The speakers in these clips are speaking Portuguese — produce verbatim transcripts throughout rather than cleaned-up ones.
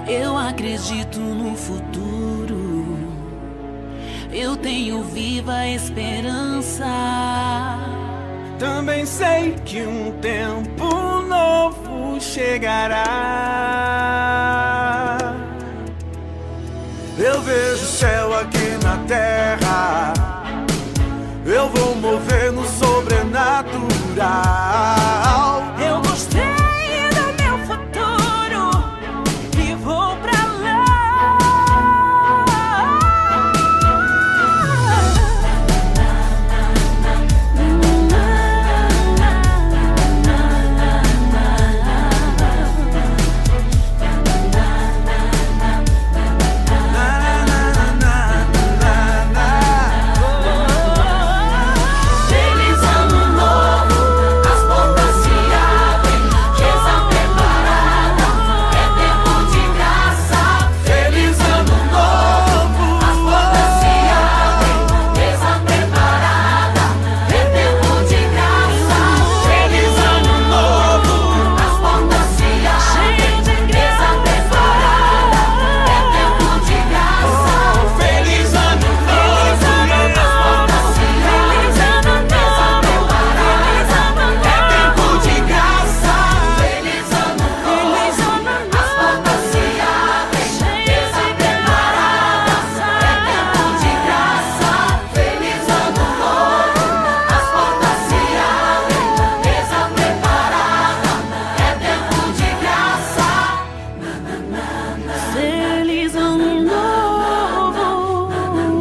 Eu acredito no futuro, eu tenho viva esperança. Também sei que um tempo novo chegará. Eu vejo o céu aqui na terra, eu vou mover no sobrenatural. Eu gostei do meu futuro e vou pra lá.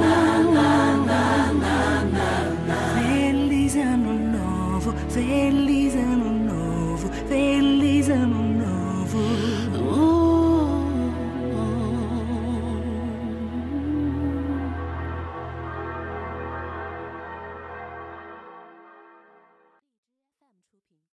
Feliz